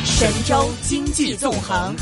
神州經濟縱橫。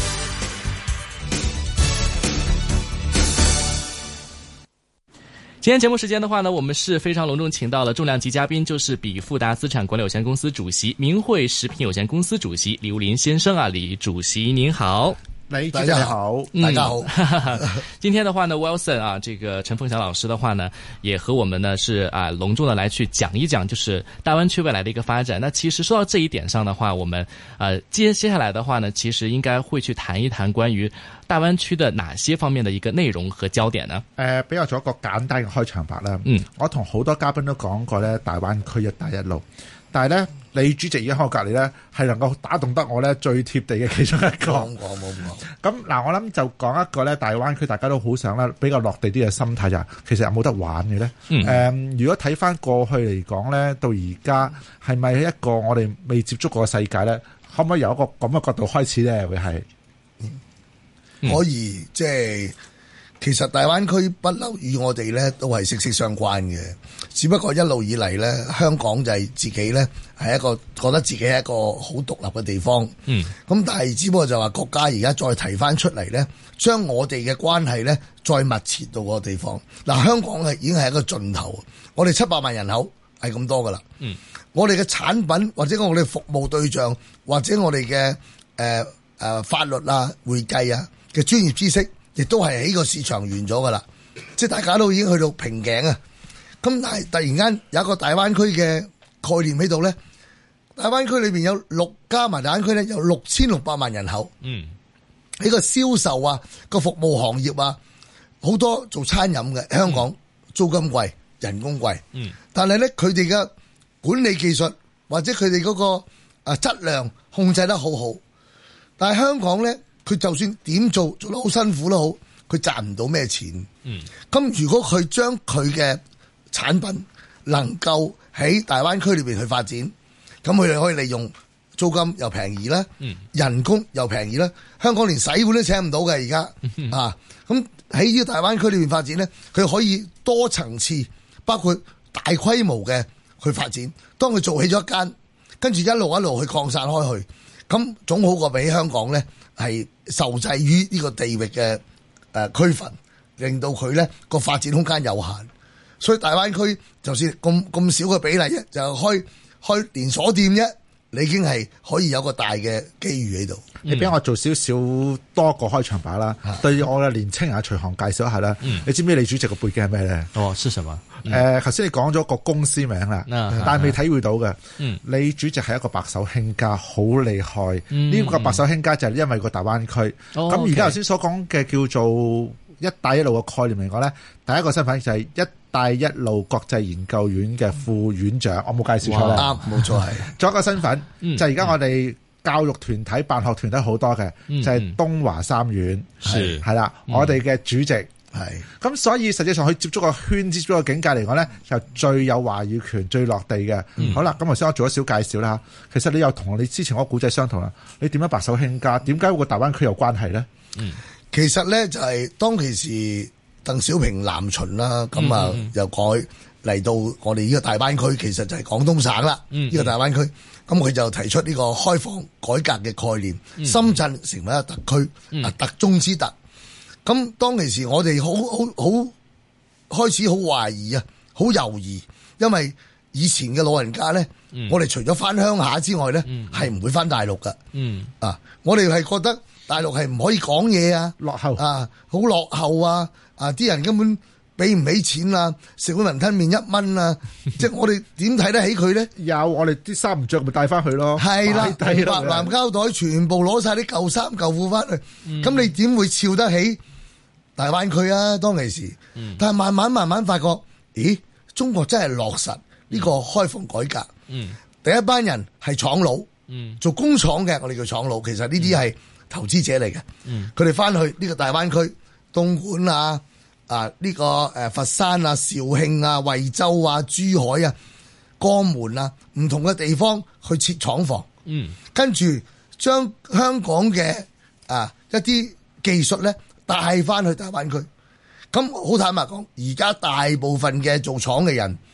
今天節目時間的話呢，我們是非常隆重請到了重量級嘉賓，就是比富達資產管理有限公司主席、明慧食品有限公司主席李武林先生啊，李主席您好。 大家好，大家好。 今天的話呢 ，Wilson 啊，這個陳鳳翔老師的話呢，也和我們呢是隆重的來去講一講，就是大灣區未來的一個發展。那其實說到這一點上的話，我們接下來的話呢，其實應該會去談一談關於大灣區的哪些方面的一個內容和焦點呢？ 俾我做一個簡單嘅開場白啦。我同好多嘉賓都講過咧，大灣區一帶一路，但係咧，李主席而家喺我隔離咧，係能夠打動得我咧最貼地嘅其中一個。冇咁嗱，我諗就講一個咧，大灣區大家都好想咧，比較落地啲嘅心態就係，其實有冇得玩嘅咧？如果睇翻過去嚟講咧，到而家係咪一個我哋未接觸過嘅世界咧？可唔可以由一個咁嘅角度開始咧？會係可以，即係其實大灣區不嬲與我哋咧都係息息相關嘅，只不過一路以嚟咧，香港就係自己咧係一個覺得自己係一個好獨立嘅地方。咁但係只不過就話國家而家再提翻出嚟咧，將我哋嘅關係咧再密切到個地方。嗱，香港係已經係一個盡頭，我哋700萬人口係咁多噶啦。我哋嘅產品或者我哋服務對象或者我哋嘅法律啊、會計啊嘅專業知識，亦都係喺個市場完咗噶啦，即係大家都已經去到瓶頸啊！咁但係突然間有一個大灣區嘅概念喺度咧，大灣區裏邊有加埋大灣區咧有6600萬人口。喺個銷售啊、個服務行業啊，好多做餐飲嘅，香港租金貴、人工貴。但係咧佢哋嘅管理技術或者佢哋嗰個質量控制得好好，但係香港咧。佢就算點做得好辛苦都好，佢賺唔到咩錢。咁如果佢將佢嘅產品能夠喺大灣區裏邊去發展，咁佢哋可以利用租金又便宜啦，人工又便宜啦。香港連洗碗都請唔到嘅而家啊！咁喺呢個大灣區裏邊發展咧，佢可以多層次，包括大規模嘅去發展。當佢做起咗一間，跟住一路去擴散開去，咁總好過比香港咧。係受制於呢個地域嘅區分，令到佢咧個發展空間有限，所以大灣區就算咁少嘅比例啫，就開連鎖店啫，你已經係可以有個大嘅機遇喺度。 你俾我做少少多個開場白啦，對我嘅年青人隨行介紹一下啦。你知唔知李主席個背景係咩咧？ 哦，是什麼？ 頭先你講咗個公司名啦，但係未體會到嘅。李主席係一個白手興家，好厲害。呢個白手興家就係因為個大灣區。咁而家頭先所講嘅叫做一帶一路嘅概念嚟講咧，第一個身份就係一帶一路國際研究院嘅副院長，我冇介紹錯咧。 啱，冇錯係。 仲有一個身份就係而家我哋教育團體、辦學團體好多嘅，就係東華三院係啦，我哋嘅主席。咁所以實際上佢接觸個圈子、接觸個境界嚟講咧，就最有話語權、最落地嘅。好啦，咁頭先我做咗小介紹啦。其實你又同你之前嗰個古仔相同啦。你點樣白手興家？點解會個大灣區有關係咧？ 其實咧就係當其時鄧小平南巡啦，咁啊又改嚟到我哋呢個大灣區，其實就係廣東省啦。呢個大灣區，咁佢就提出呢個開放改革嘅概念，深圳成為一個特區，特中之特。咁當其時我哋好開始好懷疑啊，好猶豫，因為以前嘅老人家咧，我哋除咗翻鄉下之外咧，係唔會翻大陸噶。我哋係覺得大陸係唔可以講嘢啊，落後啊，好落後啊，啲人根本俾唔起錢啊，食碗雲吞麵1蚊啊，即係我哋點睇得起佢咧？ 有我哋啲衫唔着咪帶翻去咯， 係啦，白藍膠袋全部攞晒啲舊衫舊褲翻去，咁你點會笑得起大灣區啊？當其時，但係慢慢發覺，咦，中國真係落實呢個開放改革。第一班人係廠佬，做工廠嘅，我哋叫廠佬，其實呢啲係投資者嚟嘅。佢哋翻去呢個大灣區，東莞啊。呢個佛山啊、肇慶啊、惠州啊、珠海啊、江門啊，唔同嘅地方去設廠房，跟住將香港嘅一啲技術咧帶翻去大灣區。咁好坦白講，而家大部分嘅做廠嘅人，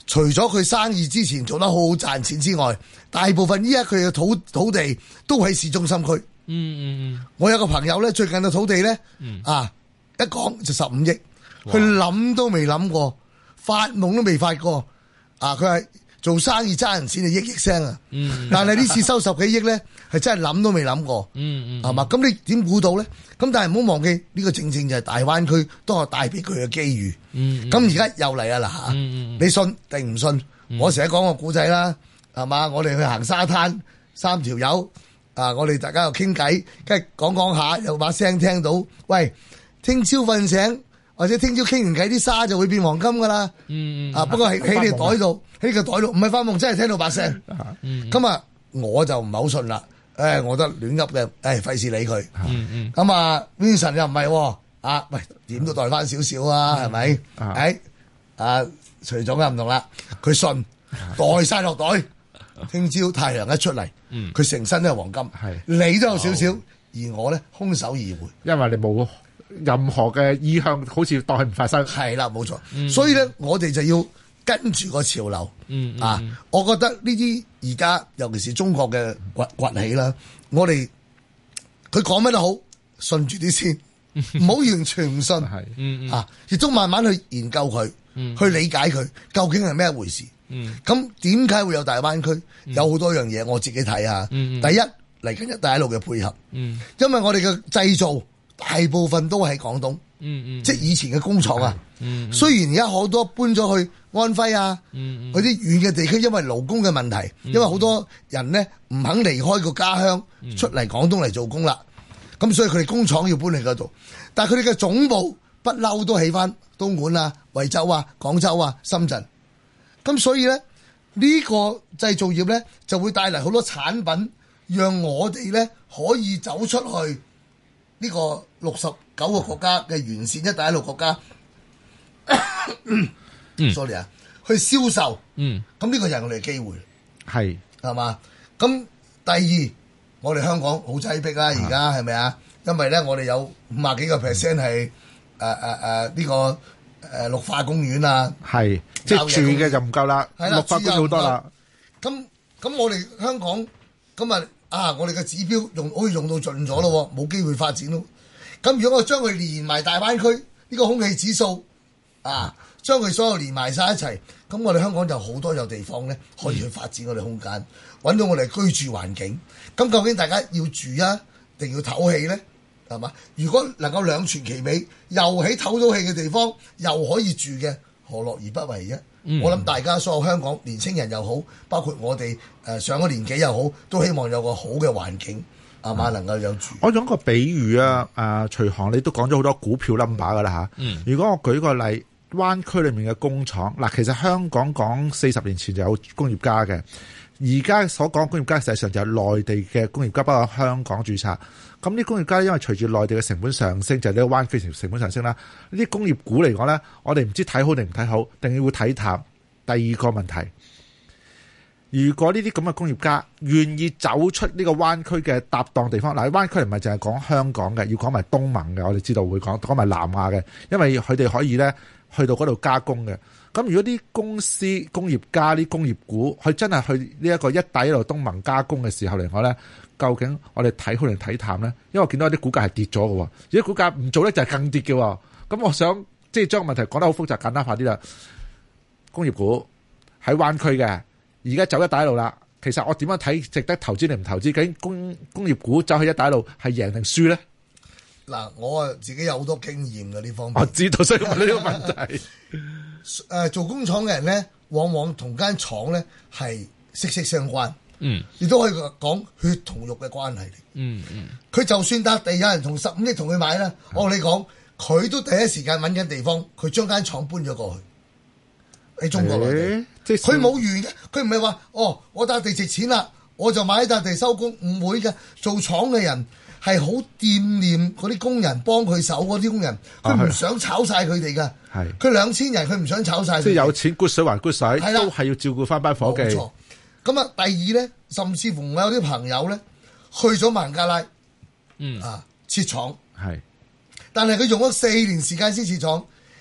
除咗佢生意之前做得好好賺錢之外，大部分依家佢嘅土地都喺市中心區。我有個朋友咧，最近嘅土地咧，一講就15億，佢諗都未諗過，發夢都未發過。佢係做生意揸人錢就億聲啊！但係呢次收10幾億咧，係真係諗都未諗過，係嘛？咁你點估到咧？咁但係唔好忘記呢個正正就係大灣區都係帶俾佢嘅機遇。咁而家又嚟啦嗱，你信定唔信？我成日講個故仔啦，係嘛？我哋去行沙灘，3條友我哋大家又傾偈，跟住講下，又把聲聽到，喂，聽朝瞓醒或者聽朝傾完偈，啲沙就會變黃金噶啦。不過喺你袋度，喺個袋度，唔係發夢，真係聽到把聲。咁我就唔係好信啦。我覺得亂噏嘅，費事理佢。咁Vincent 又唔係，喂，點都袋翻少少啊，係咪？徐總又唔同啦，佢信袋晒落袋，聽朝太陽一出嚟，佢成身都係黃金。你都有少少，而我咧空手而回， 因為你冇任何嘅意向，好似當佢唔發生。 係啦，冇錯。所以咧，我哋就要跟住個潮流。我覺得呢啲而家尤其是中國嘅崛起啦，我哋佢講乜都好，信住啲先，唔好完全唔信。亦都慢慢去研究佢，去理解佢究竟係咩一回事。咁點解會有大灣區？有好多樣嘢，我自己睇下。第一，嚟緊一帶一路嘅配合。因為我哋嘅製造大部分都喺廣東。即係以前嘅工廠啊。雖然而家好多搬咗去安徽嗰啲遠嘅地區，因為勞工嘅問題，因為好多人呢唔肯離開個家鄉出嚟廣東嚟做工啦。咁所以佢哋工廠要搬嚟嗰度，但係佢哋嘅總部不嬲都起翻東莞惠州廣州深圳。咁所以咧，呢個製造業咧就會帶嚟好多產品，讓我哋咧可以走出去呢個69個國家嘅完善一帶一路國家。sorry 去銷售。咁呢個就係我哋嘅機會。係嘛？咁第二，我哋香港好擠迫啦，而家係咪啊？因為咧，我哋有50幾個%係呢個綠化公園即係住嘅就唔夠啦，綠化公園好多啦。 咁我哋香港咁我哋嘅指標可以用到盡咗咯，冇機會發展咯。咁如果我將佢連埋大灣區呢個空氣指數將佢所有連埋晒一齊，咁我哋香港就好多有地方咧可以去發展我哋空間，揾到我哋居住環境。咁究竟大家要住定要唞氣咧？係嘛？如果能夠兩全其美，又喺唞到氣嘅地方，又可以住嘅，何樂而不為啫？我諗大家所有香港年青人又好，包括我哋上咗年紀又好，都希望有個好嘅環境，係嘛？能夠有住。我用個比喻徐航你都講咗好多股票 number 噶啦嚇。如果我舉個例，灣區裏面嘅工廠其實香港講40年前就有工業家嘅。而家所講工業家，實際上就係內地嘅工業家，包括香港註冊。咁啲工業家因為隨住內地嘅成本上升，就係呢個灣區成本上升啦。呢啲工業股嚟講咧，我哋唔知睇好定唔睇好，定要睇淡。第二個問題，如果呢啲咁嘅工業家願意走出呢個灣區嘅搭檔地方，嗱，灣區唔係淨係講香港嘅，要講埋東盟嘅，我哋知道會講埋南亞嘅，因為佢哋可以咧去到嗰度加工嘅。咁如果啲公司、工業家、啲工業股，佢真係去呢一個一帶一路東盟加工嘅時候嚟講咧，究竟我哋睇好定睇淡咧？因為我見到啲股價係跌咗嘅，如果股價唔做咧就係更跌嘅。咁我想即係將個問題講得好複雜，簡單化啲啦。工業股喺灣區嘅，而家走一帶一路啦。其實我點樣睇值得投資定唔投資？究竟工業股走去一帶一路係贏定輸咧？ 嗱，我自己有好多經驗嘅呢方面。 我知道，所以問呢個問題。 做工廠嘅人咧，往往同間廠咧係息息相關。亦都可以講血同肉嘅關係嚟。佢就算笪地有人同15億同佢買啦，我同你講，佢都第一時間揾緊地方，佢將間廠搬咗過去喺中國內地。佢冇完嘅，佢唔係話我笪地值錢啦，我就買一笪地收工，唔會嘅。做廠嘅人係好惦念嗰啲工人，幫佢手嗰啲工人，佢唔想炒晒佢哋㗎。佢2000人，佢唔想炒晒。即係有錢骨水還骨水，都係要照顧翻班伙計。冇錯。咁第二咧，甚至乎我有啲朋友咧去咗孟加拉，設廠。但係佢用咗4年時間先設廠，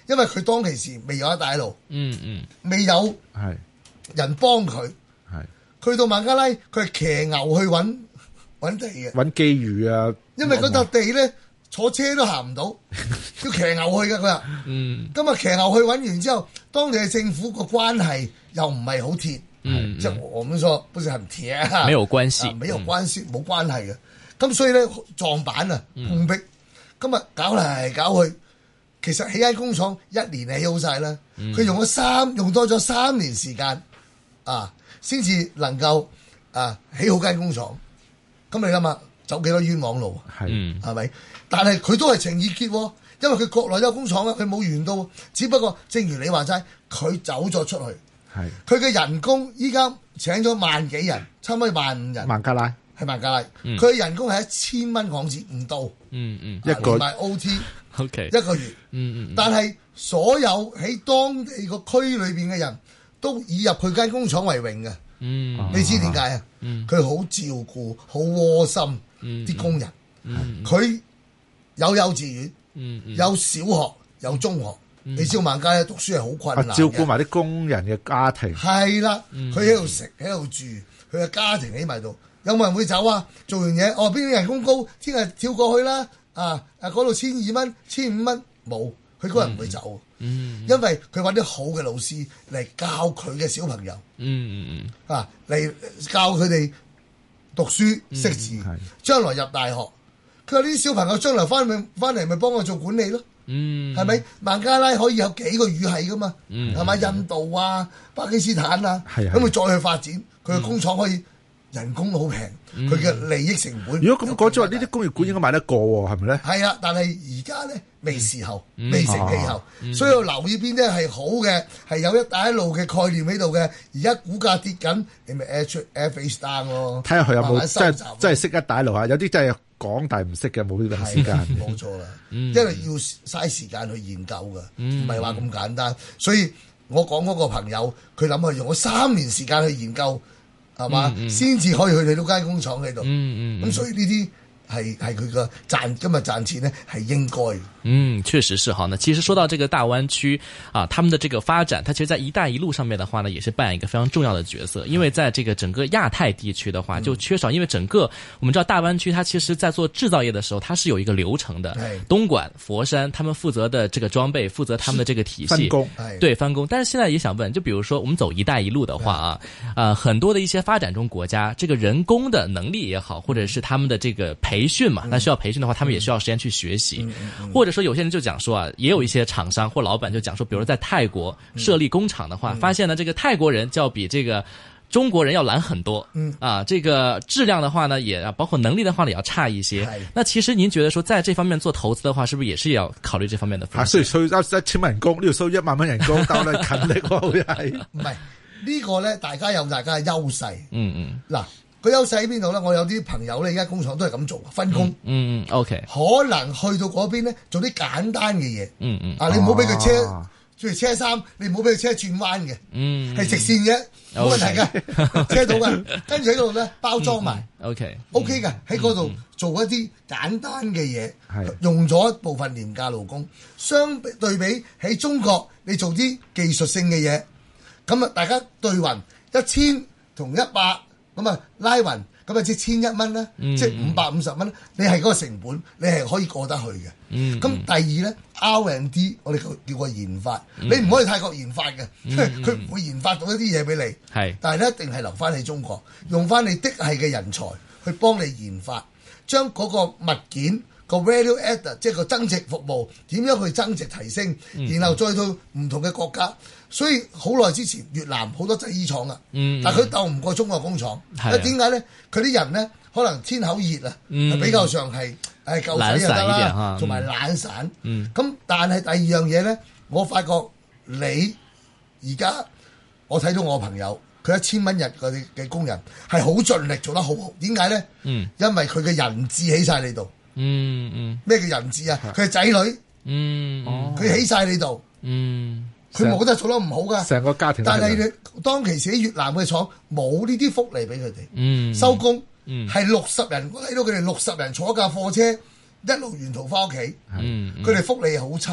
因為佢當其時未有一帶一路，未有人幫佢，去到孟加拉，佢係騎牛去揾地嘅， 揾機遇啊！ 因為嗰笪地咧坐車都行唔到，要騎牛去嘅佢話。咁啊騎牛去揾完之後，當地嘅政府個關係又唔係好鐵，即係我們說不是很鐵啊， 沒有關係， 沒有關係，冇關係嘅。咁所以咧撞板啊碰壁，咁啊搞嚟搞去，其實起間工廠1年起好晒啦，佢用多咗3年時間啊，先至能夠起好間工廠。咁你諗下走幾多冤枉路啊？係咪？但係佢都係情意結，因為佢國內有工廠啊，佢冇完到。只不過正如你話齋，佢走咗出去，佢嘅人工依家請咗1萬幾人，差唔多15000人。 孟加拉係孟加拉，佢嘅人工係1000蚊港紙唔到， 一個埋 OT， 一個月。但係所有喺當地個區裏邊嘅人都以入佢間工廠為榮嘅。你知點解啊？佢好照顧，好窩心啲工人。佢有幼稚園，有小學，有中學。你知道孟加拉讀書係好困難嘅， 照顧埋啲工人嘅家庭。 係啦，佢喺度食，喺度住，佢嘅家庭喺埋度。有冇人會走啊？做完嘢，邊啲人工高，聽日跳過去啦。嗰度1200蚊、1500蚊，冇，佢嗰人唔會走。因為佢揾啲好嘅老師嚟教佢嘅小朋友。嚟教佢哋讀書識字，將來入大學。佢話呢啲小朋友將來翻嚟咪幫我做管理咯。係咪？孟加拉可以有幾個語系噶嘛？係咪？印度啊、巴基斯坦啊，咁佢再去發展，佢嘅工廠可以。人工好平，佢嘅利益成本。 如果咁講，即係話呢啲工業館應該買得過喎，係咪咧？ 係啊，但係而家咧未時候，未成氣候，所以要留意邊啲係好嘅，係有一帶一路嘅概念喺度嘅。而家股價跌緊，你咪 air face down 咯。 睇下佢有冇真係識一帶一路啊？有啲真係講但係唔識嘅，冇呢個時間。 冇錯啦，因為要嘥時間去研究㗎，唔係話咁簡單。所以我講嗰個朋友，佢諗佢用咗3年時間去研究。係嘛？先至可以去你嗰間工廠喺度。咁所以呢啲係佢個今日賺錢呢係應該。 確實是哈。那其實說到這個大灣區啊，他們的這個發展，它其實在一帶一路上面的話呢，也是扮演一個非常重要的角色。因為在這個整個亞太地區的話，就缺少，因為整個我們知道大灣區，它其實在做製造業的時候，它是有一個流程的。東莞、佛山，他們負責的這個裝備，負責他們的這個體系， 分工， 對，分工。但是現在也想問，就比如說我們走一帶一路的話啊，很多的一些發展中國家，這個人工的能力也好，或者是他們的這個培訓嘛，那需要培訓的話，他們也需要時間去學習，或者說有些人就講說啊，也有一些廠商或老闆就講說，比如在泰國設立工廠的話，發現呢這個泰國人就要比這個中國人要懶很多，這個質量的話呢，也包括能力的話呢，也要差一些。那其實您覺得說，在這方面做投資的話，是不是也是要考慮這方面的風險？ 所以收1000蚊人工，呢度收1萬蚊人工，但係勤力喎，好似係。 唔係呢個咧，大家有大家嘅優勢。嗱。佢優勢喺邊度咧？我有啲朋友咧，而家工廠都係咁做，分工。 OK。 可能去到嗰邊咧，做啲簡單嘅嘢。你唔好俾佢車，譬如車衫，你唔好俾佢車轉彎嘅。係直線嘅，冇問題嘅，車到嘅。跟住喺度咧包裝埋。OK 嘅，喺嗰度做一啲簡單嘅嘢，用咗一部分廉價勞工。相對比喺中國，你做啲技術性嘅嘢，咁啊大家對勻1000同100。咁啊拉勻，咁啊即係1100蚊啦，即係550蚊，你係嗰個成本，你係可以過得去嘅。咁第二咧 R&D， 我哋叫個研發，你唔可以泰國研發嘅，因為佢唔會研發到一啲嘢俾你。但係咧一定係留翻喺中國，用翻你的係嘅人才去幫你研發，將嗰個物件個 value add 即係個增值服務點樣去增值提升，然後再到唔同嘅國家。所以好耐之前越南好多製衣廠啊，但係佢鬥唔過中國工廠。點解咧？佢啲人咧可能天口熱啊，比較上係夠使就得啦，同埋懶散。咁但係第二樣嘢咧，我發覺你而家我睇到我朋友，佢1000蚊日嘅工人係好盡力做得好好。點解咧？因為佢嘅人質喺晒你度。咩叫人質啊？佢係仔女。佢起晒你度。佢冇得做得唔好噶，成個家庭。但係你當其時喺越南嘅廠冇呢啲福利俾佢哋，收工係60人，我睇到佢哋60人坐一架貨車一路沿途翻屋企，佢哋福利好差，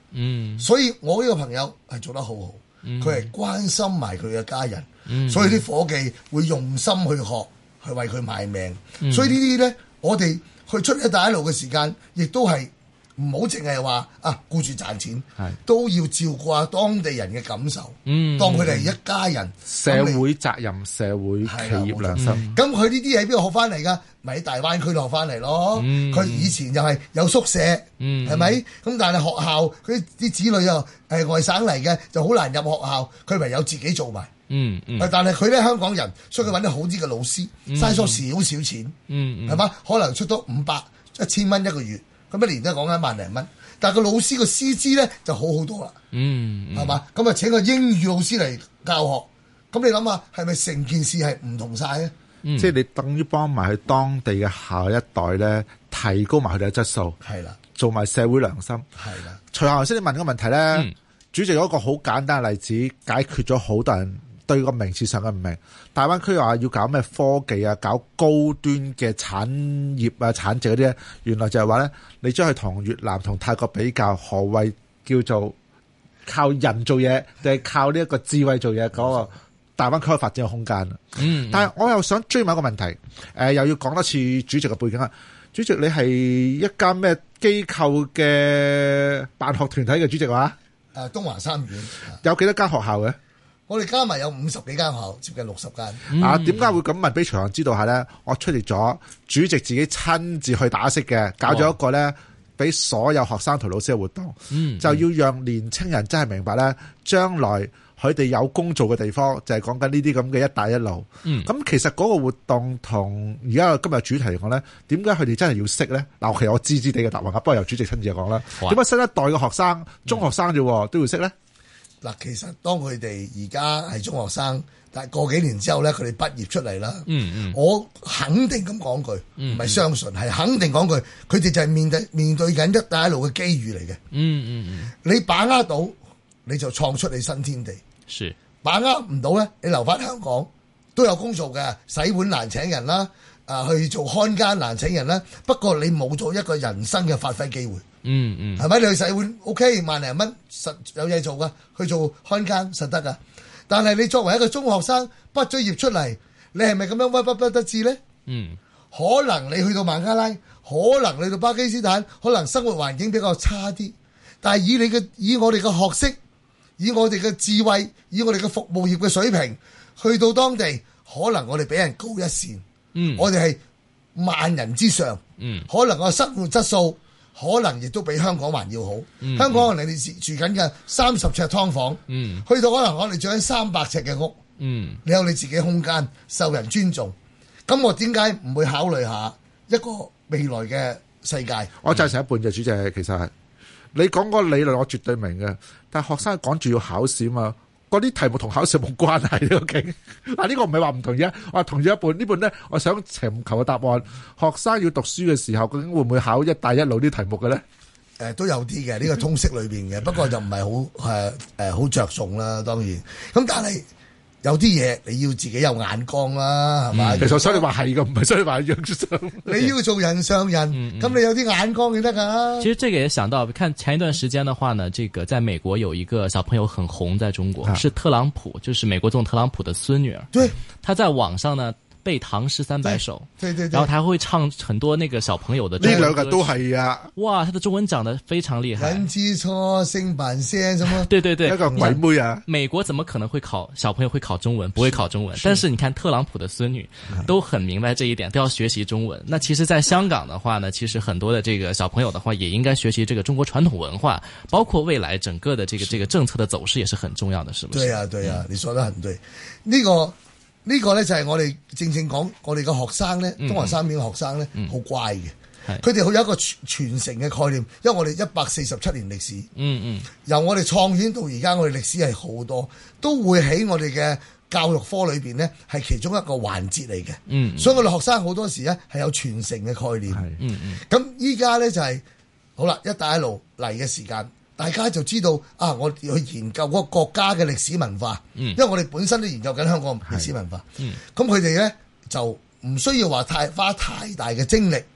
所以我呢個朋友係做得好好，佢係關心埋佢嘅家人，所以啲伙計會用心去學，去為佢賣命。所以呢啲咧，我哋去出一帶一路嘅時間，亦都係唔好淨係話顧住賺錢，都要照顧下當地人嘅感受，當佢哋係一家人。 社會責任、社會企業良心。 咁佢呢啲喺邊度學翻嚟㗎？咪喺大灣區度學翻嚟咯。佢以前就係有宿舍，係咪？咁但係學校佢啲子女又係外省嚟嘅，就好難入學校，佢唯有自己做埋。但係佢咧香港人，所以佢揾啲好啲嘅老師，嘥咗少少錢，係嘛？可能出多500、1000蚊一個月。咁一年都係講緊1萬零蚊，但係個老師個師資咧就好好多啦，係嘛？咁啊請個英語老師嚟教學，咁你諗下係咪成件事係唔同晒咧？ 即係你等於幫埋佢當地嘅下一代咧，提高埋佢哋嘅質素，係啦，做埋社會良心，係啦。隨後頭先你問個問題咧，主席有一個好簡單嘅例子，解決咗好多人對個名詞上嘅唔明。大灣區話要搞咩科技啊，搞高端嘅產業啊、產值嗰啲咧，原來就係話咧，你將佢同越南同泰國比較，何謂叫做靠人做嘢，定係靠呢一個智慧做嘢嗰個大灣區嘅發展嘅空間。但係我又想追問一個問題，又要講多次主席嘅背景啊。主席，你係一間咩機構嘅辦學團體嘅主席話？ 東華三院有幾多間學校嘅？ 我哋加埋有50幾間學校，接近60間。 點解會咁問？俾隨行知道下咧，我出席咗主席自己親自去打識嘅，搞咗一個咧，俾所有學生同老師嘅活動，就要讓年青人真係明白咧，將來佢哋有工做嘅地方就係講緊呢啲咁嘅一帶一路。咁其實嗰個活動同而家今日主題嚟講咧，點解佢哋真係要識咧？嗱，其實我知知地嘅答案啊，不過由主席親自講啦。點解新一代嘅學生、中學生啫都要識咧？ 嗱，其實當佢哋而家係中學生，但係過幾年之後咧，佢哋畢業出嚟啦。我肯定咁講句，唔係相信，係肯定講句，佢哋就係面對緊一帶一路嘅機遇嚟嘅。你把握到，你就創出你新天地。 是把握唔到咧，你留翻香港都有工做嘅，洗碗難請人啦，去做看更難請人啦。不過你冇咗一個人生嘅發揮機會。係咪？你去洗碗 OK， 萬零蚊實有嘢做噶，去做看更實得噶。但係你作為一個中學生畢咗業出嚟，你係咪咁樣屈不得志咧？可能你去到孟加拉，可能你去到巴基斯坦，可能生活環境比較差啲。但係以我哋嘅學識，以我哋嘅智慧，以我哋嘅服務業嘅水平，去到當地，可能我哋比人高一線。我哋係萬人之上。可能個生活質素，可能亦都比香港還要好。香港可能你哋住緊嘅30尺劏房，去到可能我哋住緊300尺嘅屋。你有你自己空間，受人尊重。咁我點解唔會考慮下一個未來嘅世界？ 我贊成一半嘅主席，其實係你講個理論，我絕對明嘅。但係學生趕住要考試嘛，嗰啲題目同考試冇關係呢個勁。嗱，呢個唔係話唔同意啊，我同意一半。呢半咧，我想尋求嘅答案，學生要讀書嘅時候，究竟會唔會考一帶一路啲題目嘅咧？ 都有啲嘅，呢個通識裏邊嘅，不過就唔係好着重啦。當然，咁但係有啲嘢你要自己有眼光啦，係咪？ 其實所以你話係嘅，唔係所以話樣上。 你要做人上人，咁你有啲眼光就得㗎。 其實這個也想到，看前一段時間的話呢，這個在美國有一個小朋友很紅，在中國是特朗普，就是美國總統特朗普的孫女兒。 對， 他在網上呢背唐詩300首， 對， 然後他會唱很多那個小朋友的中文歌曲。 呢兩個都係啊！ 哇，他的中文講得非常厲害。 人之初，性本善，什麼？ 對， 一個鬼妹啊！ 美國怎麼可能會小朋友會考中文？不會考中文。但是你看特朗普的孫女都很明白這一點，都要學習中文。那其實在香港的話呢，其實很多的這個小朋友的話，也應該學習這個中國傳統文化，包括未來整個的這個政策的走勢也是很重要的，是不是？ 對啊，你說得很對。呢個咧就係我哋正講，我哋嘅學生咧，東華三院嘅學生咧，好乖嘅。佢哋好有一個傳承嘅概念，因為我哋147年歷史。由我哋創院到而家，我哋歷史係好多，都會喺我哋嘅教育科裏邊咧，係其中一個環節嚟嘅。所以我哋學生好多時咧係有傳承嘅概念。咁依家咧就係好啦，一帶一路嚟嘅時間。大家就知道啊！我要去研究嗰個國家嘅歷史文化，因為我哋本身都研究緊香港歷史文化。咁佢哋咧就唔需要話花太大嘅精力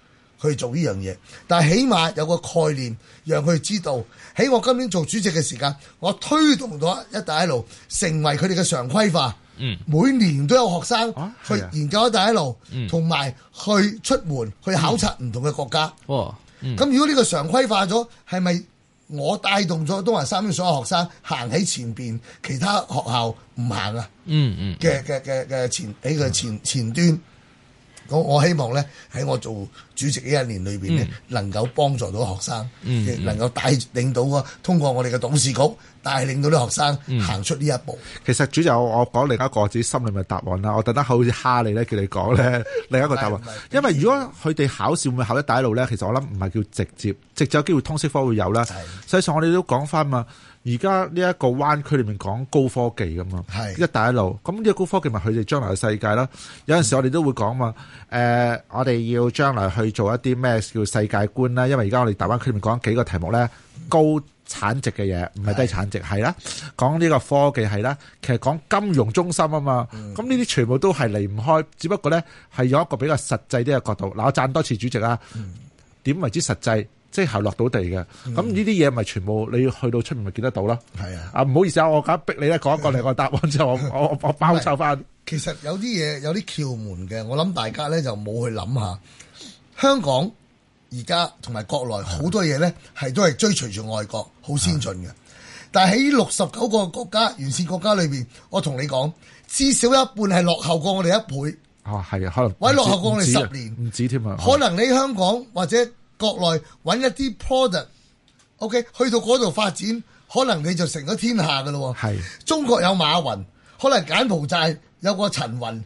去做呢樣嘢，但係起碼有個概念，讓佢知道喺我今年做主席嘅時間，我推動咗一帶一路成為佢哋嘅常規化。每年都有學生去研究一帶一路，同埋去出門去考察唔同嘅國家。咁如果呢個常規化咗，係咪我帶動咗東華三院所有學生行喺前邊，其他學校唔行啊？嘅前端。我希望咧喺我做主席呢一年裏邊咧，能夠幫助到學生，亦能夠帶領到通過我哋嘅董事局帶領到啲學生行出呢一步。 其實主席，我講另一個自己心裏面嘅答案啦。我特登好似蝦你咧，叫你講咧另一個答案。因為如果佢哋考試會唔會考一帶一路咧？其實我諗唔係叫直接有機會通識科會有啦。實際上我哋都講翻嘛。而家呢一個灣區裏面講高科技㗎嘛，一帶一路，咁呢個高科技咪佢哋將來嘅世界啦。有陣時我哋都會講嘛，我哋要將來去做一啲咩叫世界觀啦。因為而家我哋大灣區裏面講幾個題目咧，高產值嘅嘢，唔係低產值係啦。講呢個科技係啦，其實講金融中心啊嘛。咁呢啲全部都係離唔開，只不過咧係有一個比較實際啲嘅角度。嗱，我讚多次主席啊，點為之實際？即係落到地嘅，咁呢啲嘢咪全部你去到出面咪見得到咯？係啊！唔好意思啊，我梗逼你咧講一個另外答案之後，我包抄翻。 其實有啲嘢有啲竅門嘅，我諗大家咧就冇去諗下。香港而家同埋國內好多嘢咧都係追隨住外國，好先進嘅。但係喺69個國家完善國家裏邊，我同你講，至少一半係落後過我哋1倍。 係啊，可能或者落後過我哋10年， 唔止添啊。 可能你香港或者國內揾一啲 product，OK，去到嗰度發展，可能你就成咗天下噶咯。係中國有馬雲，可能柬埔寨有個陳雲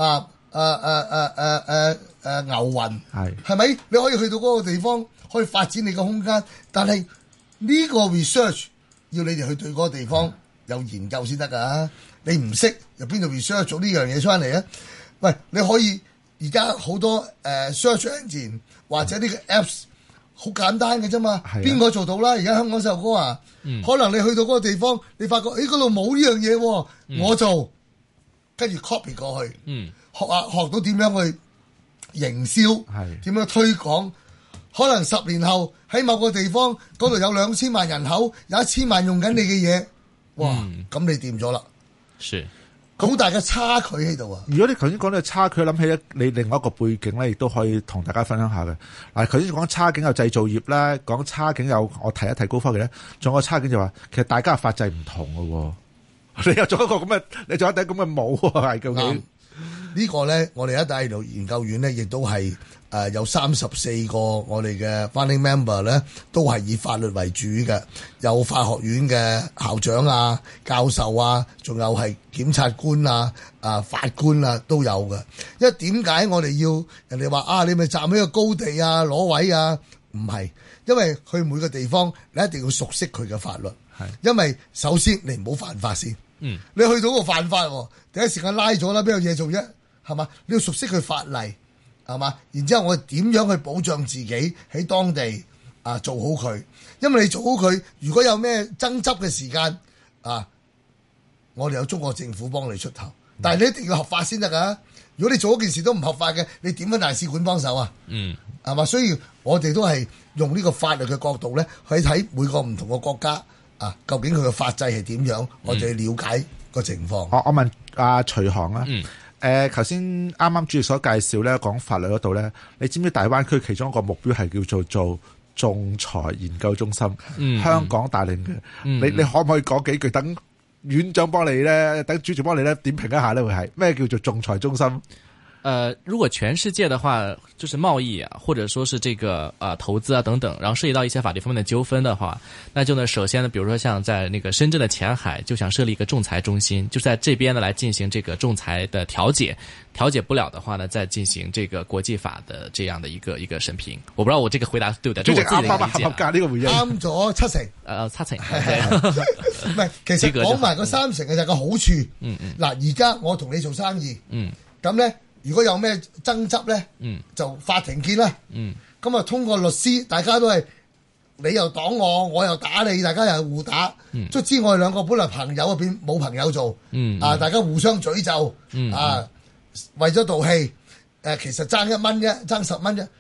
牛雲，係咪？你可以去到嗰個地方，可以發展你個空間。但係呢個 research 要你哋去對嗰個地方有研究先得噶。你唔識由邊度 research 做呢樣嘢出嚟啊？喂，你可以而家好多search engine 或者呢個 apps 好簡單嘅啫嘛，邊個做到啦？而家香港細路哥啊，可能你去到嗰個地方，你發覺嗰度冇呢樣嘢，我做，跟住 copy 過去，學到點樣去營銷，點樣推廣，可能10年後喺某個地方嗰度有2000萬人口，有1000萬用緊你嘅嘢，哇！咁你掂咗啦。是。好大嘅差距喺度啊！ 如果你頭先講到差距，諗起你另外一個背景咧，亦都可以同大家分享下嘅。嗱，頭先講差景有製造業咧，講差景有我提一提高科技咧，仲有個差景就話，其實大家嘅法制唔同嘅喎。你又做一個咁嘅，你做一頂咁嘅帽係究竟？ 呢個咧，我哋一帶一路研究院咧，亦都係有34個我哋嘅 founding member 咧，都係以法律為主嘅，有法學院嘅校長啊、教授啊，仲有係檢察官啊、法官啊都有嘅。因為點解我哋要人哋話你咪站喺個高地啊攞位啊？唔係，因為去每個地方你一定要熟悉佢嘅法律，因為首先你唔好犯法先。你去到個犯法，第一時間拉咗啦，邊有嘢做啫？係嘛？你要熟悉佢法例，係嘛？然之後我哋點樣去保障自己喺當地做好佢？因為你做好佢，如果有咩爭執嘅時間我哋有中國政府幫你出頭，但係你一定要合法先得㗎。如果你做嗰件事都唔合法嘅，你點樣大使館幫手啊？係嘛？所以我哋都係用呢個法律嘅角度咧，去睇每個唔同嘅國家究竟佢嘅法制係點樣，我哋了解個情況。 我問徐航啊。頭先啱啱主席所介紹咧，講法律嗰度咧，你知唔知大灣區其中一個目標係叫做仲裁研究中心？香港帶領嘅，你可唔可以講幾句？等院長幫你咧，等主席幫你咧點評一下咧，會係咩叫做仲裁中心？ 如果全世界的話，就是貿易啊，或者說是這個投資啊等等，然後涉及到一些法律方面的糾紛的話，那就呢，首先呢，比如說像在那個深圳的前海，就想設立一個仲裁中心，就在這邊呢來進行這個仲裁的調解，調解不了的話呢，再進行這個國際法的這樣的一個審評。我不知道我這個回答對唔對？ 主席啱合格呢個回應， 啱咗7成 ，7成唔係，其實講埋個3成嘅就係個好處。嗱，而家我同你做生意，咁咧。如果有咩爭執咧，就法庭見啦。咁通過律師，大家都係你又擋我，我又打你，大家又互打。卒之我哋兩個本來朋友變冇朋友做。大家互相詛咒。為咗道氣，其實爭1蚊啫，爭10蚊啫。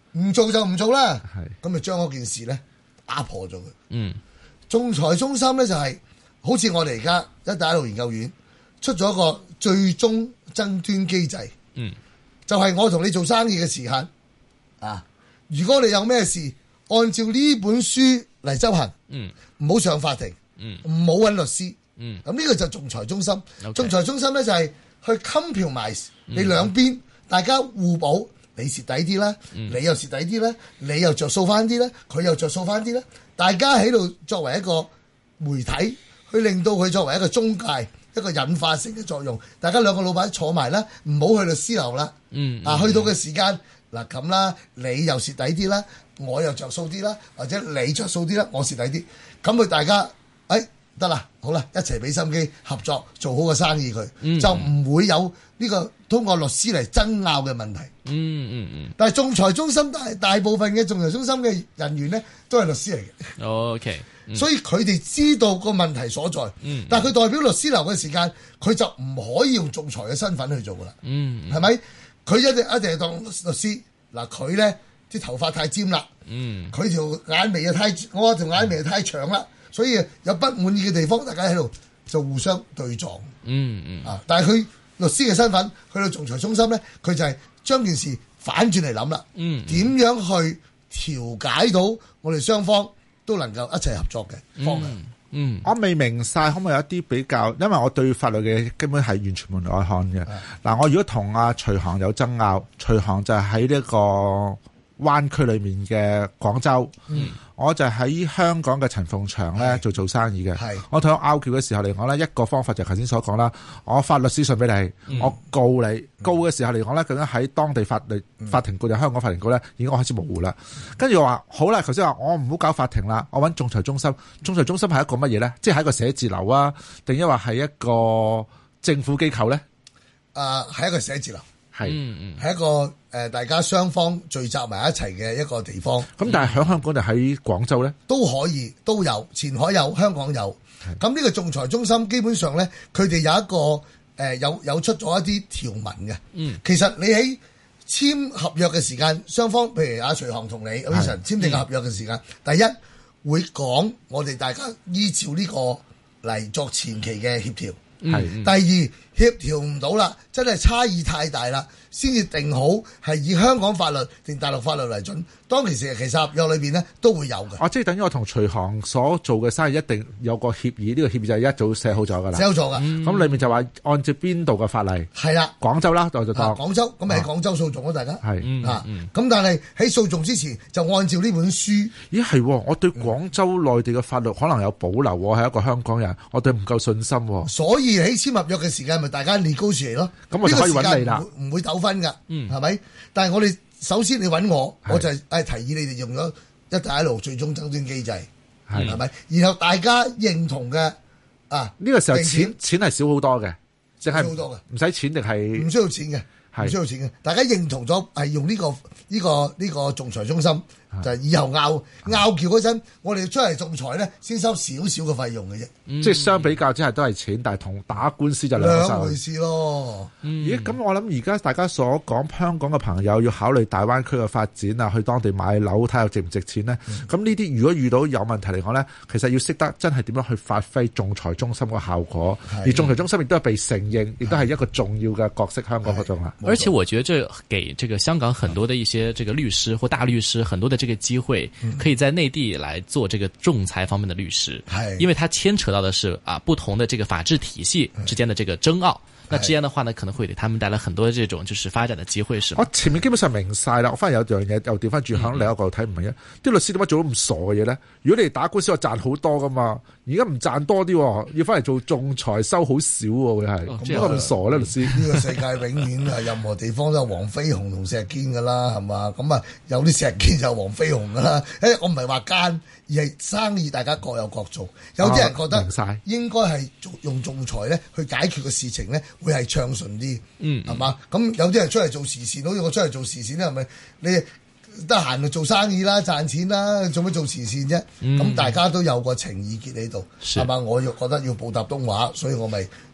唔做就唔做啦。咁就將嗰件事咧打破咗佢。仲裁中心咧就係好似我哋而家一帶一路研究院出咗一個最終爭端機制。就係我同你做生意嘅時間啊，如果你有咩事，按照呢本書嚟執行，唔好上法庭，唔好揾律師。咁呢個就仲裁中心。仲裁中心咧就係去 compromise 你兩邊，大家互補，你蝕底啲啦，你又蝕底啲啦，你又着數翻啲啦，佢又着數翻啲啦，大家喺度作為一個媒體，去令到佢作為一個中介，一個引發性嘅作用。大家兩個老闆坐埋啦，唔好去律師樓啦。去到嘅時間嗱咁啦，你又蝕底啲啦，我又着數啲啦，或者你着數啲啦，我蝕底啲，咁佢大家得啦，好啦，一齊俾心機合作做好個生意佢，就唔會有呢個通過律師嚟爭拗嘅問題。但係仲裁中心大部分嘅仲裁中心嘅人員咧都係律師嚟嘅。 OK， 所以佢哋知道個問題所在。但係佢代表律師樓嘅時間，佢就唔可以用仲裁嘅身份去做噶啦。係咪？佢一定係當律師。嗱，佢咧啲頭髮太尖啦，佢條眼眉又我條眼眉又太長啦。所以有不滿意嘅地方，大家喺度就互相對撞。但係佢律師嘅身份去到仲裁中心咧，佢就係將件事反轉嚟諗啦。點樣去調解到我哋雙方都能夠一齊合作嘅方向？ 我未明晒，可唔可以有一啲比較？因為我對法律嘅根本係完全門外漢嘅。嗱，我如果同阿徐航有爭拗，徐航就係喺呢個灣區裏面嘅廣州。我就喺香港嘅陳鳳祥咧做生意嘅。我同佢拗撬嘅時候嚟講咧，一個方法就頭先所講啦，我發律師信俾你，我告你，告嘅時候嚟講咧，究竟喺當地法庭告定香港法庭告咧，已經開始模糊啦。跟住我話好啦，頭先話我唔好搞法庭啦，我揾仲裁中心。仲裁中心係一個乜嘢咧？即係一個寫字樓啊，定抑或係一個政府機構咧？ 係一個寫字樓。係一個大家雙方聚集埋一齊嘅一個地方。 咁但係喺香港就喺廣州咧， 都可以都有，前海有，香港有。咁呢個仲裁中心基本上咧，佢哋有一個有出咗一啲條文嘅。其實你喺簽合約嘅時間，雙方譬如阿徐航同你Wilson簽訂合約嘅時間，第一會講我哋大家依照呢個嚟作前期嘅協調。第二協調唔到啦，真係差異太大啦，先至定好係以香港法律定大陸法律為準。當其實合約裏邊咧都會有嘅。即係等於我同徐航所做嘅生意一定有個協議，呢個協議就係一早寫好咗㗎啦。寫好咗㗎。咁裏面就話按照邊度嘅法例？係啦，廣州啦，就當廣州咁咪喺廣州訴訟咯，大家係咁但係喺訴訟之前就按照呢本書。咦係，我對廣州內地嘅法律可能有保留。我係一個香港人，我對唔夠信心。所以喺簽合約嘅時間咪大家negotiate咯。咁我就可以揾你啦，唔會糾紛㗎，係咪？但係我哋。首先你揾我就係提議你哋用咗一帶一路最終爭端機制，係咪？然後大家認同嘅呢個時候錢係少好多嘅，淨係少好多嘅，唔使錢定係唔需要錢嘅，唔需要錢嘅。大家認同咗係用呢個仲裁中心，就係以後拗撬嗰陣，我哋出嚟仲裁咧，先收少少嘅費用嘅啫。即係相比較之下都係錢，但係同打官司就兩回事咯。咦？咁我諗而家大家所講香港嘅朋友要考慮大灣區嘅發展啊，去當地買樓睇下值唔值錢呢？咁呢啲如果遇到有問題嚟講呢，其實要識得真係點樣去發揮仲裁中心嘅效果。而仲裁中心亦都係被承認，亦都係一個重要嘅角色。香港嗰種啊。 而且我覺得這給這個香港很多的一些這個律師或大律師很多的這個機會，可以在內地來做這個仲裁方面的律師。因為它牽扯到的是不同的這個法治體系之間的這個爭拗，那之間的話呢，可能會給他們帶來很多的這種就是發展的機會，是嗎？我前面基本上明晒啦，我反而有樣嘢又調翻轉響另一個角度睇唔明啊！啲律師點解做到咁傻嘅嘢咧？如果你哋打官司，我賺好多噶嘛，而家唔賺多啲，要翻嚟做仲裁收好少喎，會係點解咁傻咧？律師呢個世界永遠係任何地方都有黃飛鴻同石堅噶啦，係嘛？咁啊有啲石堅就黃飛鴻噶啦。我唔係話奸，而係生意大家各有各做。有啲人覺得應該係用仲裁咧去解決個事情咧，會係暢順啲，係嘛？咁有啲人出嚟做時事，好似我出嚟做時事咧，係咪？你得閒就做生意啦，賺錢啦，做咩做慈善啫？咁大家都有個情意結喺度，係嘛？我又覺得要報答東華，所以我咪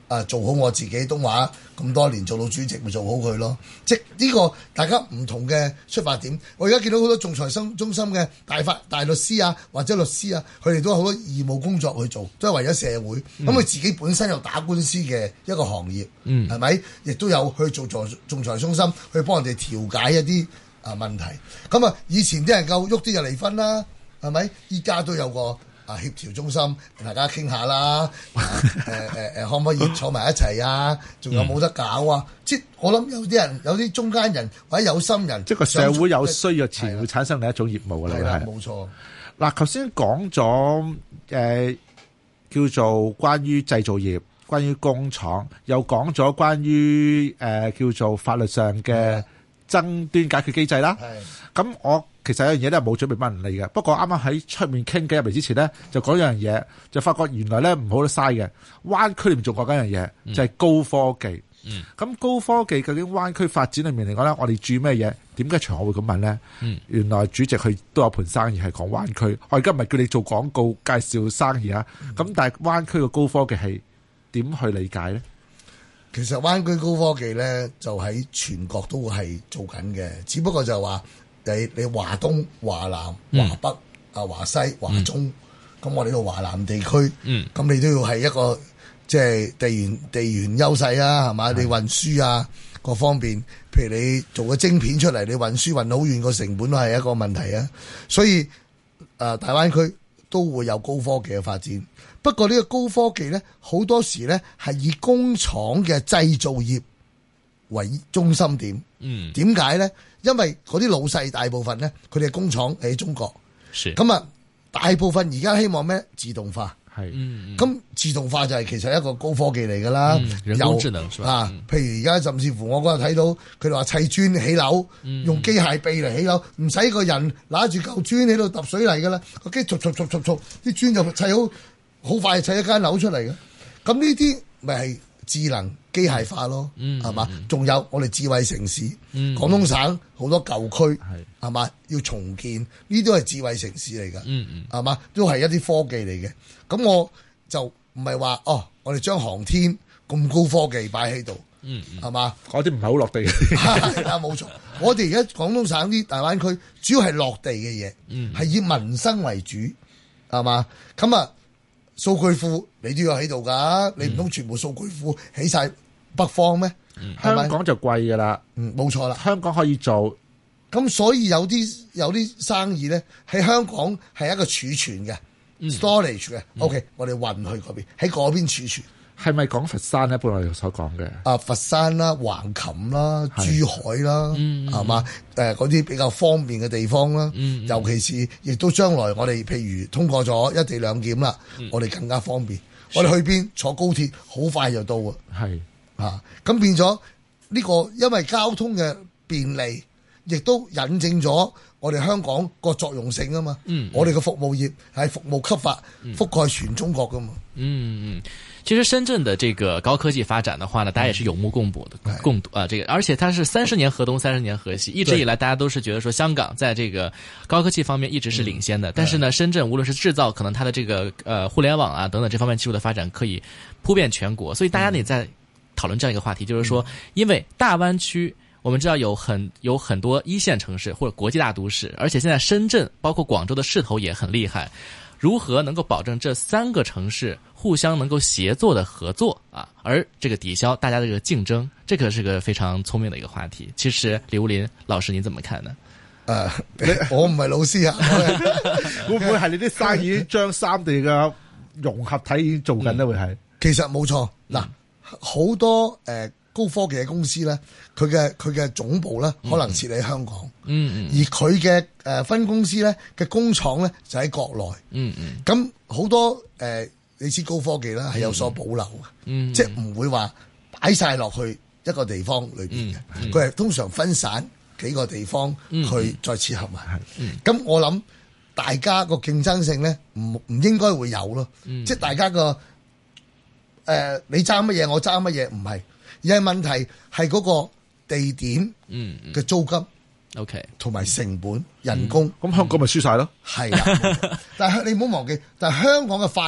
做好我自己東華咁多年做到主席，咪做好佢咯。即係呢個大家唔同嘅出發點。我而家見到好多仲裁中心嘅大律師啊，或者律師啊，佢哋都有好多義務工作去做，都係為咗社會。咁佢自己本身有打官司嘅一個行業，係咪？亦都有去做仲裁中心去幫人哋調解一啲問題。咁啊，以前啲人夠喐啲就離婚啦，係咪？依家都有個協調中心，大家傾下啦，可唔可以坐埋一齊啊？仲有冇得搞啊？即係我諗有啲人，有啲中間人或者有心人， 即係個社會有需要前會產生另一種業務㗎啦。 係冇錯。 嗱，頭先講咗叫做關於製造業、關於工廠，又講咗關於叫做法律上嘅爭端解決機制啦。咁我其實有樣嘢咧冇準備問你嘅，不過啱啱喺出面傾偈入嚟之前咧，就講一樣嘢，就發覺原來咧唔好得嘥嘅。灣區裏面仲講緊一樣嘢，就係高科技。咁高科技究竟灣區發展裏面嚟講咧，我哋注意咩嘢？點解長學會咁問咧？原來主席佢都有盤生意係講灣區。我而家唔係叫你做廣告介紹生意啊。咁但係灣區嘅高科技係點去理解咧？ 其實灣區高科技咧就喺全國都係做緊嘅，只不過就話你華東、華南、華北、華西、華中，咁我哋呢度華南地區，咁你都要係一個即係地緣優勢啊，係嘛？你運輸啊各方面，譬如你做個晶片出嚟，你運輸運好遠，個成本都係一個問題啊。所以大灣區都會有高科技嘅發展。不過呢個高科技咧，好多時咧係以工廠嘅製造業為中心點。點解咧？因為嗰啲老細大部分咧，佢哋嘅工廠喺中國。咁啊，大部分而家希望咩？自動化。咁自動化就係其實一個高科技嚟㗎啦。 人工智能譬如而家甚至乎我嗰日睇到佢哋話砌磚起樓，用機械臂嚟起樓，唔使個人拿住嚿磚喺度揼水泥㗎啦，個機啲磚就砌好快砌一間樓出嚟嘅。咁呢啲咪係智能機械化咯，係嘛？仲有我哋智慧城市，廣東省好多舊區，係嘛？要重建，呢啲都係智慧城市嚟㗎，係嘛？都係一啲科技嚟嘅。咁我就唔係話我哋將航天咁高科技擺喺度，係嘛？ 嗰啲唔係好落地嘅。 係啦，冇錯。我哋而家廣東省啲大灣區主要係落地嘅嘢，係以民生為主，係嘛？咁啊，數據庫你都要喺度㗎，你唔通全部數據庫起晒北方咩？ 香港就貴㗎啦。 冇錯啦， 香港可以做。 咁所以有啲生意咧喺香港係一個儲存嘅。storage 嘅，OK，我哋運去嗰邊，喺嗰邊儲存。 係咪講佛山咧？本來我哋所講嘅佛山啦、橫琴啦、珠海啦，係嘛？嗰啲比較方便嘅地方啦，尤其是亦都將來我哋譬如通過咗一地兩檢啦，我哋更加方便。我哋去邊坐高鐵好快就到啊！咁變咗呢個，因為交通嘅便利，亦都引證咗我哋香港個作用性啊嘛。我哋嘅服務業係服務級發，覆蓋全中國噶嘛。 其實深圳的這個高科技發展的話呢，大家也是有目共睹的，這個而且它是30年河東30年河西，一直以來大家都是覺得說香港在這個高科技方面一直是領先的，但是呢，深圳無論是製造，可能它的這個互聯網啊等等這方面技術的發展可以鋪遍全國，所以大家呢也在討論這樣一個話題，就是說，因為大灣區我們知道有很多一線城市或者國際大都市，而且現在深圳包括廣州的勢頭也很厲害。如何能夠保證這3個城市互相能夠協作的合作啊？而這個抵消大家的這個競爭，這個是個非常聰明的一個話題。其實李武林老師，您怎麼看呢？ 我唔係老師啊， 會唔會係你啲生意將三地嘅融合體已經做緊呢？會係？ 其實冇錯，嗱，好多高科技嘅公司咧，佢嘅總部咧可能設喺香港，而佢嘅分公司咧嘅工廠咧就喺國內，咁好多你知高科技啦係有所保留嘅，即係唔會話擺晒落去一個地方裏邊嘅，佢係通常分散幾個地方去再切合埋，咁我諗大家個競爭性咧唔應該會有咯，即係大家個你爭乜嘢我爭乜嘢唔係。而係問題係嗰個地點嘅租金，OK，同埋成本、人工， 咁香港咪輸晒咯？ 係啦，但係你唔好忘記，但係香港嘅法律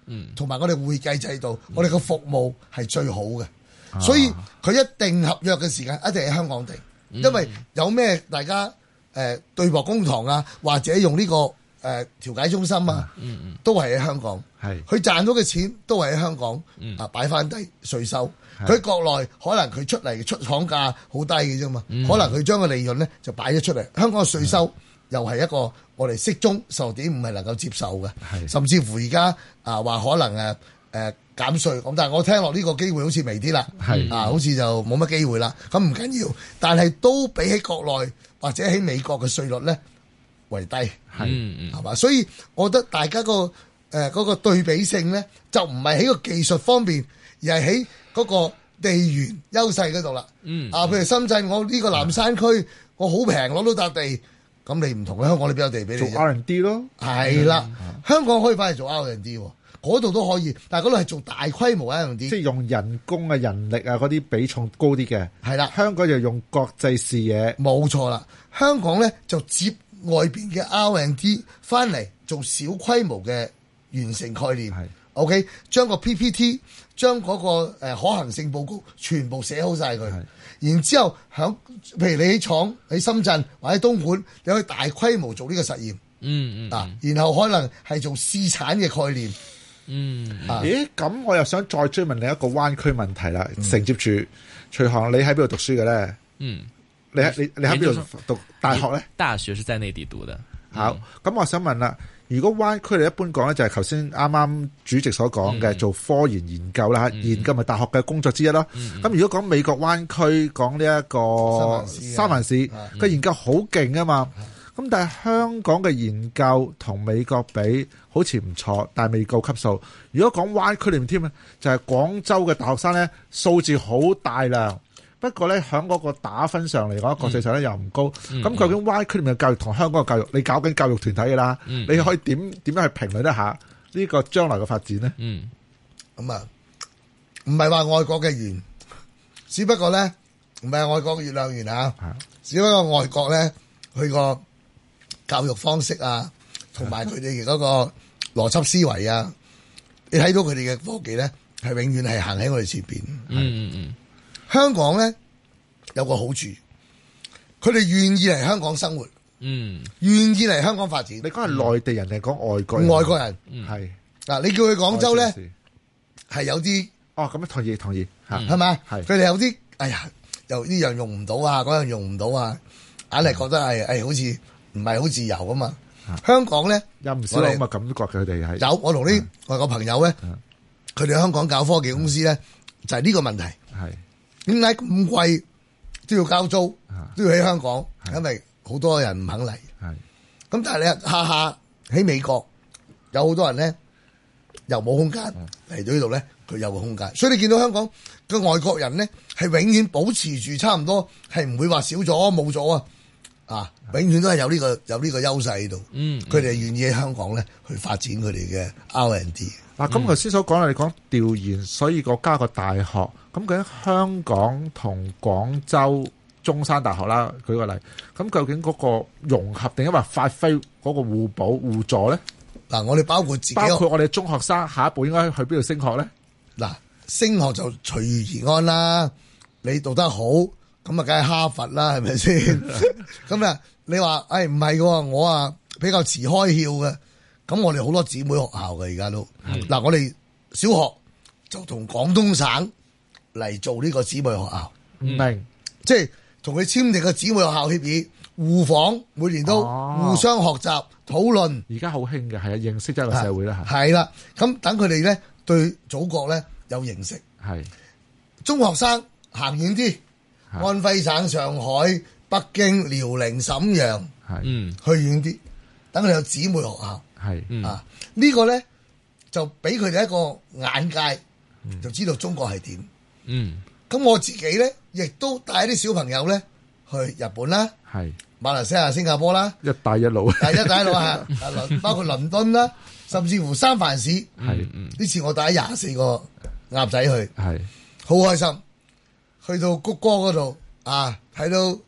同埋我哋會計制度，我哋個服務係最好嘅，所以佢一定合約嘅時間一定喺香港定，因為有咩大家對簿公堂啊，或者用呢個調解中心啊，都係喺香港，佢賺到嘅錢都係喺香港擺翻低稅收。佢喺國內可能佢出嚟出廠價好低嘅啫嘛，可能佢將個利潤咧就擺咗出嚟。香港嘅稅收又係一個我哋適中16.5係能夠接受嘅，甚至乎而家話可能減稅咁，但係我聽落呢個機會好似微啲啦，好似就冇乜機會啦。咁唔緊要，但係都比起國內或者喺美國嘅稅率咧為低，係嘛？所以我覺得大家嗰個對比性咧，就唔係喺個技術方面，而係喺嗰個地緣優勢嗰度啦。譬如深圳，我呢個南山區，我好平攞到笪地，咁你唔同嘅香港，你邊有地俾你？ 做 R&D 咯， 係啦，香港可以翻嚟做 R&D，嗰度都可以，但係嗰度係做大規模 R&D， 即係用人工啊、人力啊嗰啲比重高啲嘅。 係啦， 香港就用國際視野， 冇錯啦。香港咧就接外邊嘅 R&D 翻嚟做小規模嘅完成概念。OK， 將個 PPT， 將嗰個可行性報告全部寫好晒佢，然之後譬如你喺廠喺深圳或者東莞，你可以大規模做呢個實驗，然後可能係做試產嘅概念。 咦？咁我又想再追問你一個灣區問題啦。承接住徐航，你喺邊度讀書嘅咧？你喺邊度讀大學咧？ 大學是在內地讀嘅。 好，咁我想問啦，如果灣區你一般講咧，就係頭先啱啱主席所講嘅做科研究啦，研究咪大學嘅工作之一咯。咁如果講美國灣區，講呢一個三藩市嘅研究好勁啊嘛。咁但係香港嘅研究同美國比好似唔錯，但係未夠級數。如果講灣區裏面添咧，就係廣州嘅大學生咧，數字好大量。不過咧，喺嗰個打分上嚟講，國際上咧又唔高。咁究竟灣區裏面嘅教育同香港嘅教育，你搞緊教育團體㗎啦，你可以點樣去評論一下呢個將來嘅發展咧？ 咁啊，唔係話外國嘅圓，只不過咧唔係外國嘅月亮圓啊，只不過外國咧佢個教育方式啊，同埋佢哋嗰個邏輯思維啊，你睇到佢哋嘅科技咧係永遠係行喺我哋前邊。香港咧有個好處，佢哋願意嚟香港生活，願意嚟香港發展。 你講係內地人定係講外國人？ 外國人係嗱，你叫佢廣州咧係有啲咁樣同意係嘛？ 係佢哋有啲哎呀，又呢樣用唔到啊，嗰樣用唔到啊，硬係覺得係好似唔係好自由啊嘛。香港咧有唔少咁嘅感覺，佢哋係有。我同啲外國朋友咧，佢哋香港搞科技公司咧，就係呢個問題。 係點解咁貴都要交租，都要喺香港？因為好多人唔肯嚟。咁但係你下下喺美國有好多人咧，又冇空間嚟到呢度咧，佢有個空間。所以你見到香港嘅外國人咧，係永遠保持住差唔多，係唔會話少咗冇咗啊！永遠都係有呢個優勢喺度。佢哋願意喺香港咧去發展佢哋嘅 R&D。 嗱，咁頭先所講啦，你講調研，所以加個大學。咁究竟香港同廣州中山大學啦，舉個例，咁究竟嗰個融合定係話發揮嗰個互補互助咧？嗱， 我哋包括我哋中學生下一步應該去邊度升學咧？ 嗱，升學就隨遇而安啦。你讀得好，咁啊，梗係哈佛啦，係咪先？咁啊，你話唔係嘅，我比較遲開竅嘅。咁我哋好多姊妹學校嘅而家都嗱，我哋小學就同廣東省嚟做呢個姊妹學校， 明即係同佢簽訂個姊妹學校協議，互訪，每年都互相學習討論。 而家好興嘅係認識一個社會啦， 係啦。咁等佢哋咧對祖國咧有認識。係中學生行遠啲，安徽省、上海、北京、遼寧、瀋陽，去遠啲，等佢哋有姊妹學校。呢個咧就俾佢哋一個眼界，就知道中國係點。咁我自己咧亦都帶啲小朋友咧去日本啦，馬來西亞、新加坡啦， 一帶一路， 一帶一路包括倫敦啦，甚至乎三藩市。呢次我帶24個鴨仔去，好開心。去到谷歌嗰度睇到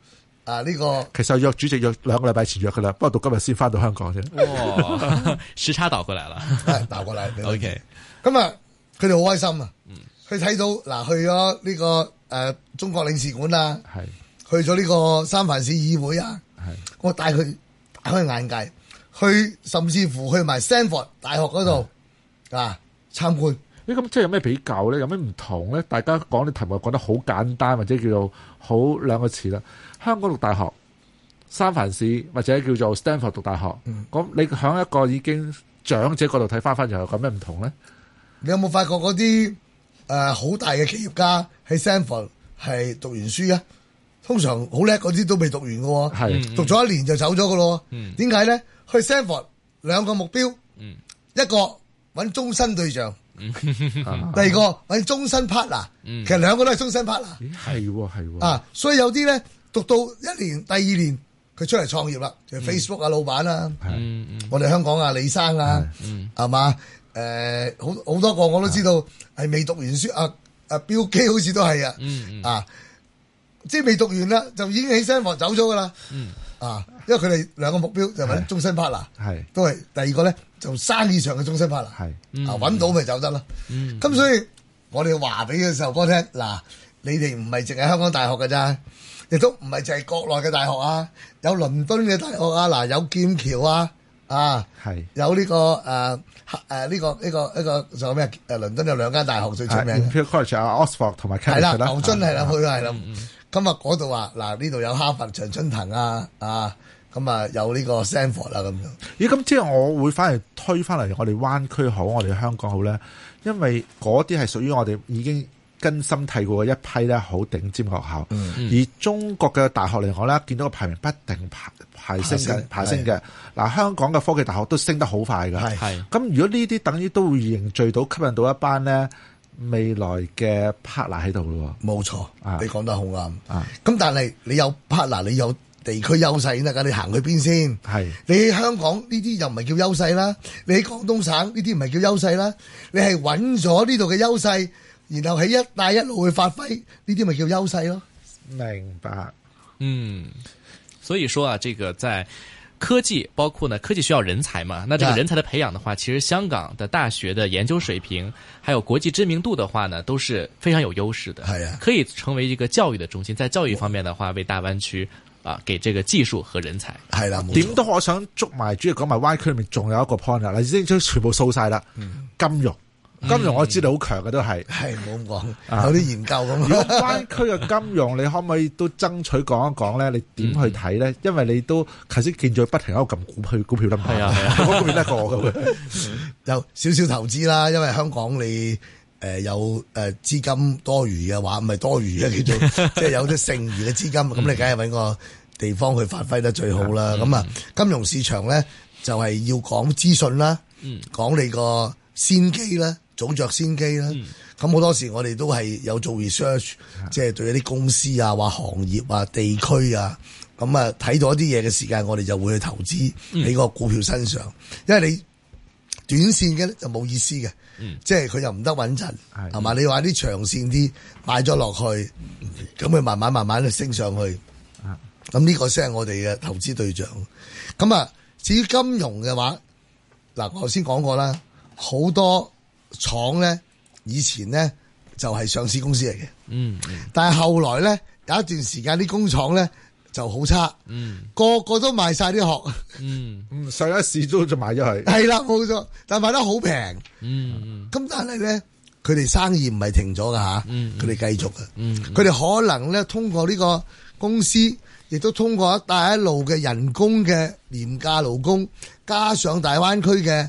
呢個其實約主席約2個禮拜前約噶啦，不過到今日先翻到香港啫。 哇，時差倒過嚟啦， 倒過嚟。 OK， 咁啊，佢哋好開心啊！佢睇到嗱，去咗呢個中國領事館啊，去咗呢個三藩市議會啊，我帶佢打開眼界，去甚至乎去埋 Stanford 大學嗰度參觀。 咁即係有咩比較咧？有咩唔同咧？大家講啲題目講得好簡單，或者叫做好兩個詞啦。香港讀大學，三藩市或者叫做 Stanford 讀大學，咁你響一個已經長者角度睇翻又有咁咩唔同咧？ 你有冇發覺嗰啲好大嘅企業家喺 Stanford 係讀完書啊？通常好叻嗰啲都未讀完嘅喎，讀咗1年就走咗嘅咯。點解咧？去 Stanford 2個目標，一個揾終身對象。第二個揾終身 partner，其實2個都係終身 partner。係所以有啲咧讀到1年、第2年佢出嚟創業啦，就 Facebook 老闆啦，我哋香港李生啊，係嘛？好多個我都知道係未讀完書，標基好似都係即係未讀完啦，就已經起身走咗噶啦。因為佢哋2個目標就揾終身 partner，都係第二個咧就生意上嘅終身 partner，揾到咪走得咯。咁所以我哋話俾嘅時候哥聽，嗱，你哋唔係淨係香港大學㗎咋，亦都唔係淨係國內嘅大學啊，有倫敦嘅大學啊，嗱，有劍橋有呢個呢個仲有咩？倫敦有2間大學最出名嘅 College 啊 ，Oxford 同埋 Cambridge 係啦，牛津係啦，佢係啦。今日嗰度話嗱，呢度有哈佛常春藤咁有呢個 Stanford 啦咁樣。 咦，咁即係我會翻嚟推翻嚟，我哋灣區好，我哋香港好咧，因為嗰啲係屬於我哋已經根深蒂固嘅一批咧，好頂尖學校。而中國嘅大學嚟講咧，見到個排名不定排升嘅。嗱，香港嘅科技大學都升得好快㗎。咁如果呢啲等於都會凝聚到吸引到一班咧未來嘅 partner 喺度咯。 冇錯，你講得好啱。咁但係你有 partner， 你有地區優勢先得㗎，你行去邊先？你喺香港呢啲又唔係叫優勢啦，你喺廣東省呢啲唔係叫優勢啦，你係揾咗呢度嘅優勢，然後喺一帶一路去發揮，呢啲咪叫優勢咯？ 明白。 所以說這個在科技，包括呢科技需要人才嘛，那這個人才的培養的話，其實香港的大學的研究水平，還有國際知名度的話呢，都是非常有優勢的。可以成為一個教育的中心，在教育方面的話，為大灣區給這個技術和人才。 係啦， 點都我想捉埋，主要講埋灣區裏面仲有一個 point 啦，你先將全部掃晒啦。金融我知道好強嘅都係， 冇咁講，有啲研究咁。 如果灣區嘅金融，你可唔可以都爭取講一講咧？你點去睇咧？因為你都頭先見咗不停喺度撳股票啦，係啊，嗰邊得過我嘅。 有少少投資啦，因為香港你有資金多餘嘅話，唔係多餘嘅叫做，即係有啲剩餘嘅資金，咁你梗係搵個地方去發揮得最好啦。咁金融市場咧就係要講資訊啦，講你個先機啦。早着先機啦，咁好多時我哋都係有做 research，即係對一啲公司啊、或行業啊、地區啊，咁睇到一啲嘢嘅時間，我哋就會去投資喺個股票身上，因為你短線嘅就冇意思嘅，即係佢又唔得穩陣，係嘛？你話啲長線啲買咗落去，咁佢慢慢升上去，咁呢個先係我哋嘅投資對象。咁至於金融嘅話，嗱我頭先講過啦，好多廠咧以前咧就係上市公司嚟嘅，但係後來咧有一段時間啲工廠咧就好差，個個都賣晒啲殼， 上一市都就賣咗佢， 係啦冇錯，但係賣得好平，咁但係咧佢哋生意唔係停咗噶吓，佢哋繼續嘅，佢哋可能咧通過呢個公司，亦都通過一帶一路嘅人工嘅廉價勞工，加上大灣區嘅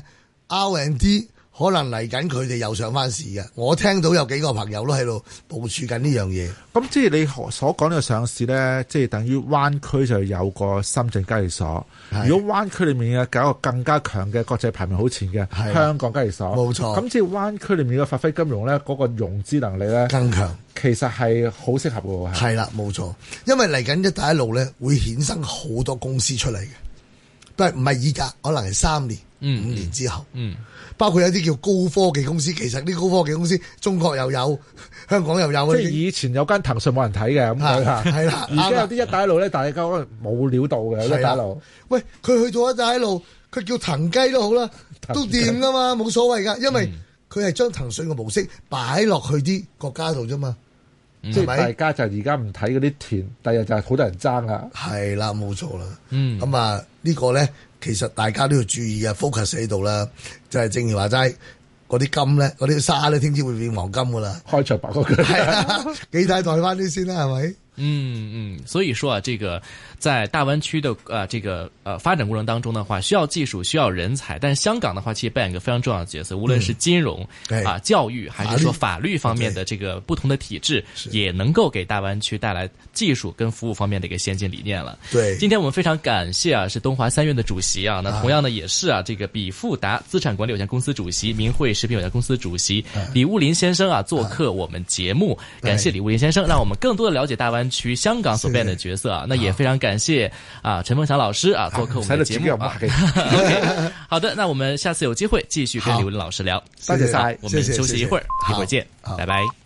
R&D。可能嚟緊佢哋又上翻市嘅，我聽到有幾個朋友都喺度部署緊呢樣嘢。 咁即係你所講呢個上市咧，即係等於灣區就有個深圳交易所。如果灣區裏面嘅搞一個更加強嘅國際排名好前嘅香港交易所，冇錯。咁即係灣區裏面嘅發揮金融咧，嗰個融資能力咧更強，其實係好適合嘅。 係啦，冇錯。因為嚟緊一帶一路咧會衍生好多公司出嚟嘅，但係唔係依家，可能係3年。 5年之後，包括有啲叫高科技公司，其實啲高科技公司中國又有，香港又有。 即係以前有間騰訊冇人睇嘅咁樣， 係啦。 而家有啲一帶一路咧，大家可能冇料到嘅一帶一路。 喂，佢去做一帶一路，佢叫騰雞都好啦，都掂噶嘛，冇所謂噶，因為佢係將騰訊嘅模式擺落去啲國家度啫嘛。 即係大家就而家唔睇嗰啲田，第日就係好多人爭啊。 係啦，冇錯啦。咁啊，呢個咧，其實大家都要注意啊 ，focus 喺度啦。就係正如話齋，嗰啲金咧，嗰啲沙咧，聽朝會變黃金噶啦。 開場白嗰句係啊，幾睇代翻啲先啦，係咪？ 所以說啊，這個在大灣區的這個發展過程當中的話，需要技術，需要人才，但是香港的話，其實扮演一個非常重要的角色，無論是金融教育，還是說法律方面的這個不同的體制，也能夠給大灣區帶來技術跟服務方面的一個先進理念了。 對， 今天我們非常感謝啊，是東華三院的主席啊，那同樣呢也是啊，這個比富達資產管理有限公司主席、明慧食品有限公司主席李務林先生啊，做客我們節目，感謝李務林先生，讓我們更多的了解大灣區香港所扮演的角色啊，那也非常感謝啊陳鳳翔老師啊做客我們的節目啊。OK， 好的，那我們下次有機會繼續跟李務林老師聊。 謝謝晒， 我們休息一會兒，一會兒見，拜拜。